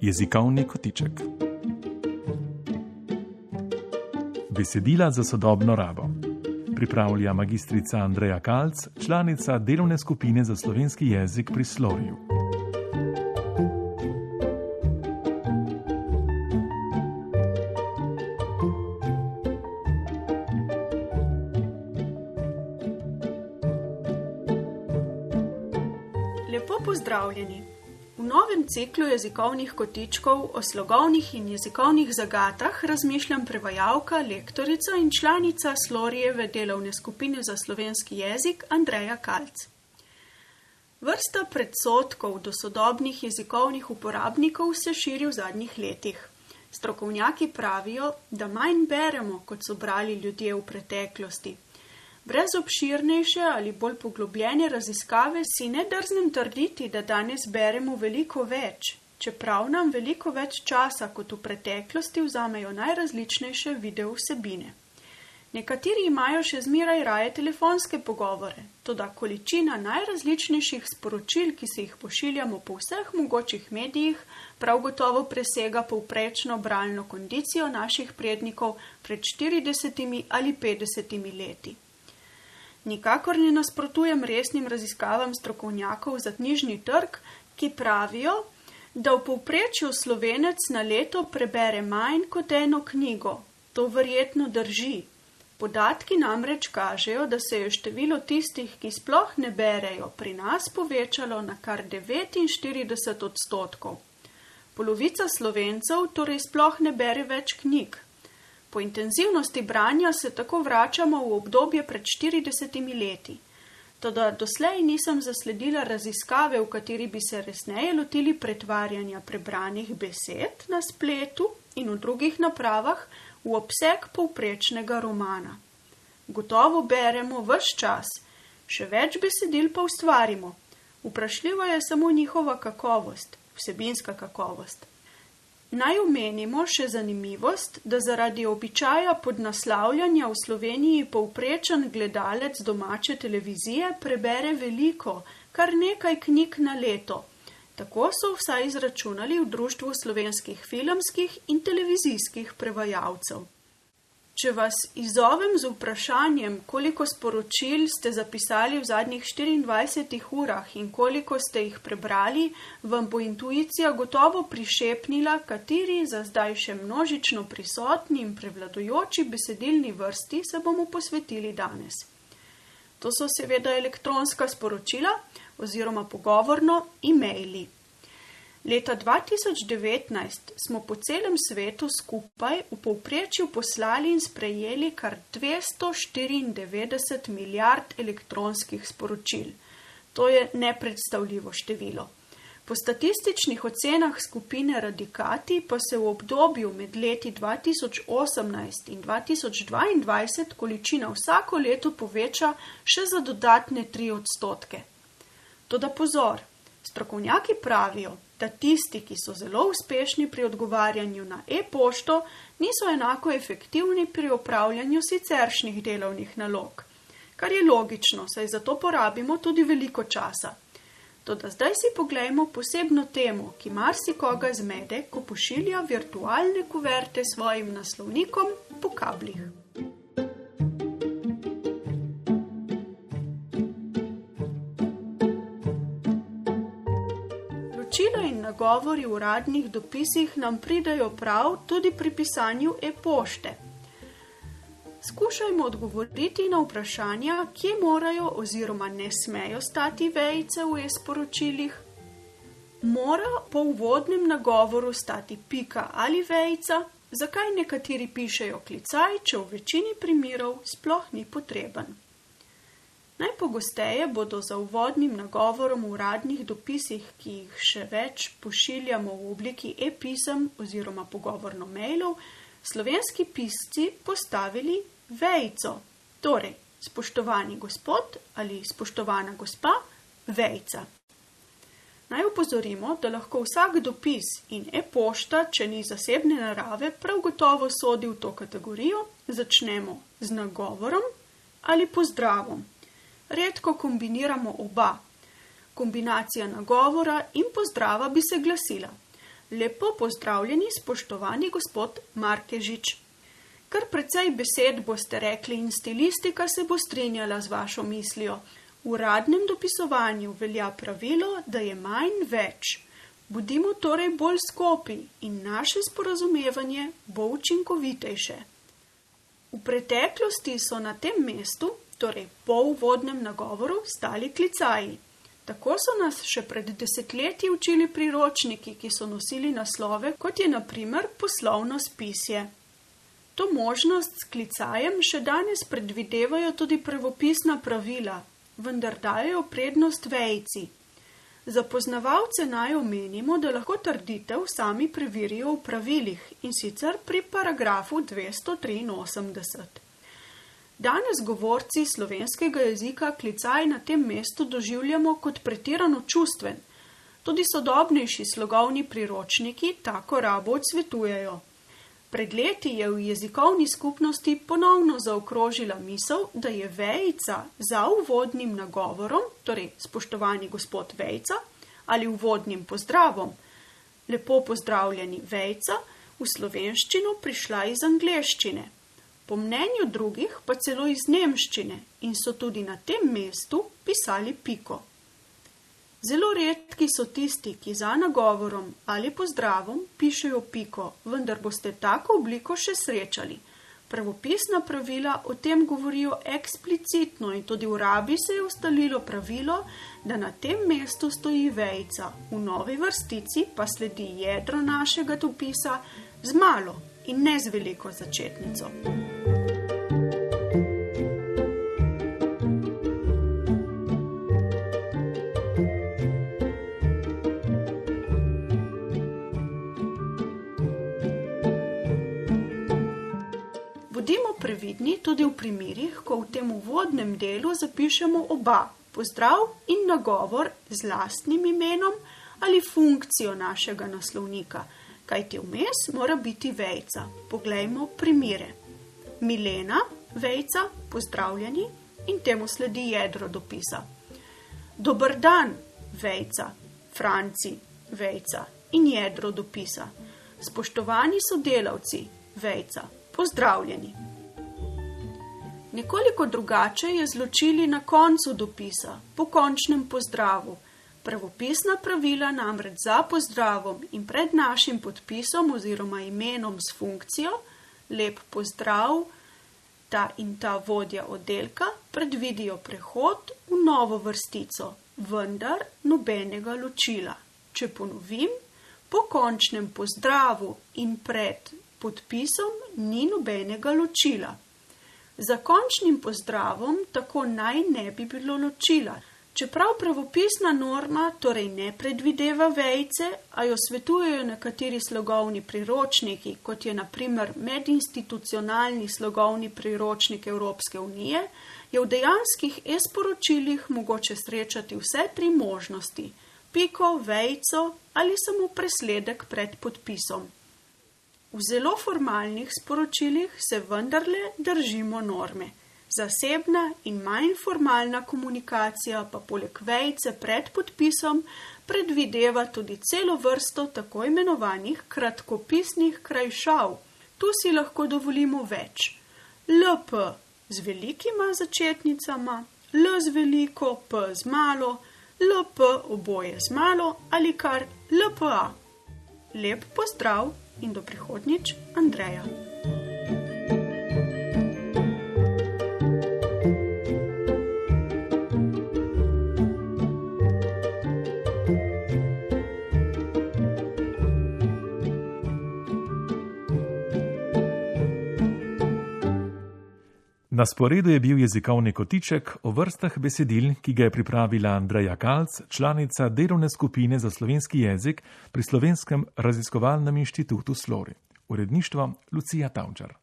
Jezikovni kotiček. Besedila za sodobno rabo. Pripravlja magistrica Andreja Kalc, članica delovne skupine za slovenski jezik pri Sloriju. Lepo pozdravljeni. V novem ciklu jezikovnih kotičkov o slogovnih in jezikovnih zagatah razmišljam prevajalka, lektorica in članica Slorijeve delovne skupine za slovenski jezik Andreja Kalc. Vrsta predsodkov do sodobnih jezikovnih uporabnikov se širi v zadnjih letih. Strokovnjaki pravijo, da manj beremo, kot so brali ljudje v preteklosti. Brez obširnejše ali bolj poglobljene raziskave si ne drznem trditi, da danes beremo veliko več, čeprav nam veliko več časa kot v preteklosti vzamejo najrazličnejše video vsebine. Nekateri imajo še zmeraj raje telefonske pogovore, toda količina najrazličnejših sporočil, ki se jih pošiljamo po vseh mogočih medijih, prav gotovo presega povprečno bralno kondicijo naših prednikov pred 40 ali 50 leti. Nikakor ne nasprotujem resnim raziskavam strokovnjakov za knjižni trg, ki pravijo, da v povprečju Slovenec na leto prebere manj kot eno knjigo. To verjetno drži. Podatki namreč kažejo, da se je število tistih, ki sploh ne berejo, pri nas povečalo na kar 49%. Polovica Slovencev torej sploh ne bere več knjig. Po intenzivnosti branja se tako vračamo v obdobje pred 40 leti. Toda doslej nisem zasledila raziskave, v kateri bi se resneje lotili pretvarjanja prebranih besed na spletu in v drugih napravah v obseg povprečnega romana. Gotovo beremo ves čas, še več besedil pa ustvarimo. Vprašljiva je samo njihova kakovost, vsebinska kakovost. Naj omenimo še zanimivost, da zaradi običaja podnaslavljanja v Sloveniji povprečen gledalec domače televizije prebere veliko, kar nekaj knjig na leto. Tako so vsaj izračunali v Društvu slovenskih filmskih in televizijskih prevajalcev. Če vas izzovem z vprašanjem, koliko sporočil ste zapisali v zadnjih 24 urah in koliko ste jih prebrali, vam bo intuicija gotovo prišepnila, kateri za zdaj še množično prisotni in prevladujoči besedilni vrsti se bomo posvetili danes. To so seveda elektronska sporočila oziroma pogovorno e-maili. Leta 2019 smo po celem svetu skupaj v povprečju poslali in sprejeli kar 294 milijard elektronskih sporočil. To je nepredstavljivo število. Po statističnih ocenah skupine Radikati pa se v obdobju med leti 2018 in 2022 količina vsako leto poveča še za dodatne 3%. Toda pozor, strokovnjaki pravijo, da tisti, ki so zelo uspešni pri odgovarjanju na e-pošto, niso enako efektivni pri opravljanju siceršnjih delovnih nalog. Kar je logično, saj za to porabimo tudi veliko časa. Toda zdaj si poglejmo posebno temo, ki marsikoga zmede, ko pošilja virtualne kuverte svojim naslovnikom po kablih. Ločila in nagovori v uradnih dopisih nam pridejo prav tudi pri pisanju e-pošte. Skušajmo odgovoriti na vprašanja, kje morajo oziroma ne smejo stati vejice v e-sporočilih. Mora po uvodnem nagovoru stati pika ali vejica, zakaj nekateri pišejo klicaj, če v večini primerov sploh ni potreben. Najpogosteje bodo za uvodnim nagovorom v uradnih dopisih, ki jih še več pošiljamo v obliki e-pisem oziroma pogovorno mailov, slovenski pisci postavili vejico. Torej, spoštovani gospod ali spoštovana gospa, vejica. Naj opozorimo, da lahko vsak dopis in e-pošta, če ni zasebne narave, prav gotovo sodi v to kategorijo, začnemo z nagovorom ali pozdravom. Redko kombiniramo oba. Kombinacija nagovora in pozdrava bi se glasila: Lepo pozdravljeni, spoštovani gospod Markežič. Kar precej besed boste rekli in stilistika se bo strinjala z vašo mislijo. V uradnem dopisovanju velja pravilo, da je manj več. Budimo torej bolj skopi in naše sporazumevanje bo učinkovitejše. V preteklosti so na tem mestu, torej po uvodnem nagovoru, stali klicaji. Tako so nas še pred desetletji učili priročniki, ki so nosili naslove, kot je na primer poslovno spisje. To možnost s klicajem še danes predvidevajo tudi pravopisna pravila, vendar dajo prednost vejici. Za poznavalce naj omenimo, da lahko trditev sami preverijo v pravilih, in sicer pri paragrafu 283. Danes govorci slovenskega jezika klicaj na tem mestu doživljamo kot pretirano čustven. Tudi sodobnejši slogovni priročniki tako rabo odsvetujejo. Pred leti je v jezikovni skupnosti ponovno zaokrožila misel, da je vejica za uvodnim nagovorom, torej spoštovani gospod Vejca, ali uvodnim pozdravom, lepo pozdravljeni Vejca, v slovenščino prišla iz angleščine. Po mnenju drugih pa celo iz nemščine in so tudi na tem mestu pisali piko. Zelo redki so tisti, ki za nagovorom ali pozdravom pišejo piko, vendar boste tako obliko še srečali. Pravopisna pravila o tem govorijo eksplicitno in tudi v rabi se je ustalilo pravilo, da na tem mestu stoji vejica, v novi vrstici pa sledi jedro našega dopisa z malo in ne z veliko začetnico. Bodimo previdni tudi v primerih, ko v tem uvodnem delu zapišemo oba, pozdrav in nagovor z lastnim imenom ali funkcijo našega naslovnika, kajti vmes mora biti vejica. Poglejmo primere. Milena, vejica, pozdravljeni in temu sledi jedro dopisa. Dober dan, vejica, Franci, vejica in jedro dopisa. Spoštovani sodelavci, vejica, pozdravljeni. Nekoliko drugače je z ločili na koncu dopisa, po končnem pozdravu. Pravopisna pravila namreč za pozdravom in pred našim podpisom oziroma imenom s funkcijo, lep pozdrav, ta in ta vodja oddelka, predvidijo prehod v novo vrstico, vendar nobenega ločila. Če ponovim, po končnem pozdravu in pred podpisom ni nobenega ločila. Za končnim pozdravom tako naj ne bi bilo ločila. Čeprav pravopisna norma torej ne predvideva vejice, a jo svetujejo nekateri slogovni priročniki, kot je na primer medinstitucionalni slogovni priročnik Evropske unije, je v dejanskih e-sporočilih mogoče srečati vse tri možnosti: piko, vejico ali samo presledek pred podpisom. V zelo formalnih sporočilih se vendarle držimo norme. Zasebna in manj formalna komunikacija pa poleg vejice pred podpisom predvideva tudi celo vrsto tako imenovanih kratkopisnih krajšav. Tu si lahko dovolimo več. LP z velikima začetnicama, L z veliko, P z malo, LP oboje z malo ali kar LPA. Lep pozdrav in do prihodnjič, Andreja. Na sporedu je bil jezikovni kotiček o vrstah besedil, ki ga je pripravila Andreja Kalc, članica delovne skupine za slovenski jezik pri Slovenskem raziskovalnem inštitutu Slori. Uredništvo Lucija Tavčar.